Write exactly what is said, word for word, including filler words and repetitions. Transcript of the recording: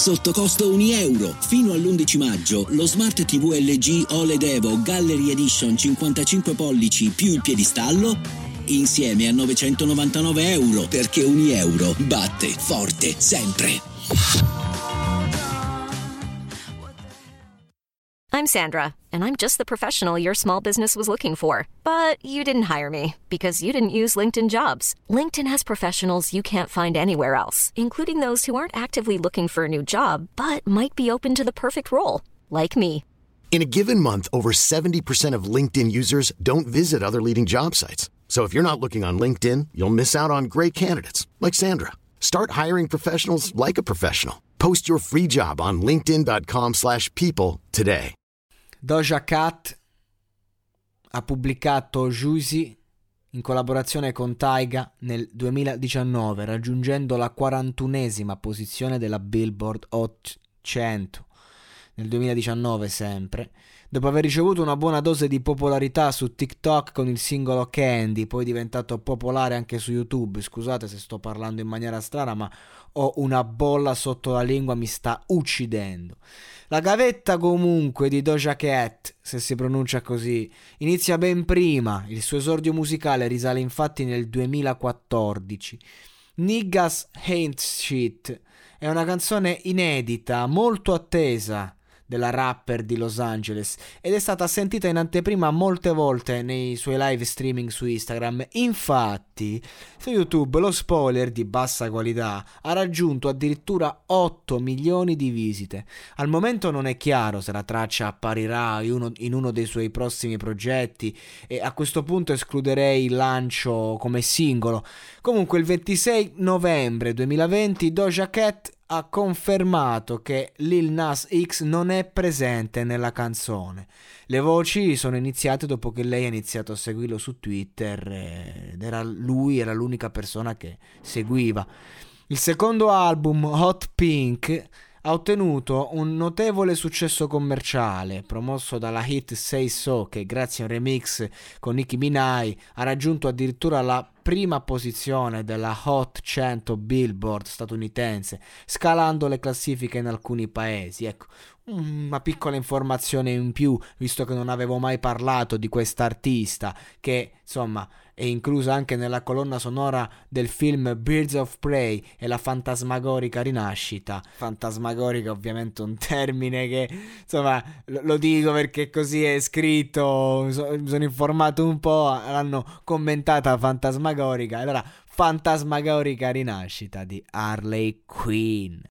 sotto costo un euro. Fino all'undici maggio lo Smart ti vu L G O L E D Evo Gallery Edition cinquantacinque pollici più il piedistallo insieme a novecentonovantanove euro, perché un euro batte forte sempre. I'm Sandra, and I'm just the professional your small business was looking for. But you didn't hire me because you didn't use LinkedIn Jobs. LinkedIn has professionals you can't find anywhere else, including those who aren't actively looking for a new job, but might be open to the perfect role, like me. In a given month, over seventy percent of LinkedIn users don't visit other leading job sites. So if you're not looking on LinkedIn, you'll miss out on great candidates like Sandra. Start hiring professionals like a professional. Post your free job on linkedin.com slash people today. Doja Cat ha pubblicato Juicy in collaborazione con Tyga nel duemiladiciannove, raggiungendo la quarantunesima posizione della Billboard Hot cento. Nel duemiladiciannove sempre, dopo aver ricevuto una buona dose di popolarità su TikTok con il singolo Candy, poi diventato popolare anche su YouTube. Scusate se sto parlando in maniera strana, ma ho una bolla sotto la lingua, mi sta uccidendo. La gavetta comunque di Doja Cat, se si pronuncia così, inizia ben prima. Il suo esordio musicale risale infatti nel duemilaquattordici. Niggas Ain't Shit è una canzone inedita, molto attesa della rapper di Los Angeles ed è stata sentita in anteprima molte volte nei suoi live streaming su Instagram. Infatti su YouTube lo spoiler di bassa qualità ha raggiunto addirittura otto milioni di visite. Al momento non è chiaro se la traccia apparirà in uno, in uno dei suoi prossimi progetti e a questo punto escluderei il lancio come singolo. Comunque il ventisei novembre duemilaventi Doja Cat ha confermato che Lil Nas X non è presente nella canzone. Le voci sono iniziate dopo che lei ha iniziato a seguirlo su Twitter ed era lui era l'unica persona che seguiva. Il secondo album, Hot Pink, ha ottenuto un notevole successo commerciale, promosso dalla hit Say So, che grazie a un remix con Nicki Minaj ha raggiunto addirittura la prima posizione della Hot cento Billboard statunitense, scalando le classifiche in alcuni paesi. Ecco, una piccola informazione in più, visto che non avevo mai parlato di quest'artista, che insomma è inclusa anche nella colonna sonora del film Birds of Prey e la fantasmagorica rinascita. Fantasmagorica ovviamente un termine che insomma lo, lo dico perché così è scritto, mi so, mi sono informato un po', l'hanno commentata fantasmagorica, allora fantasmagorica rinascita di Harley Quinn.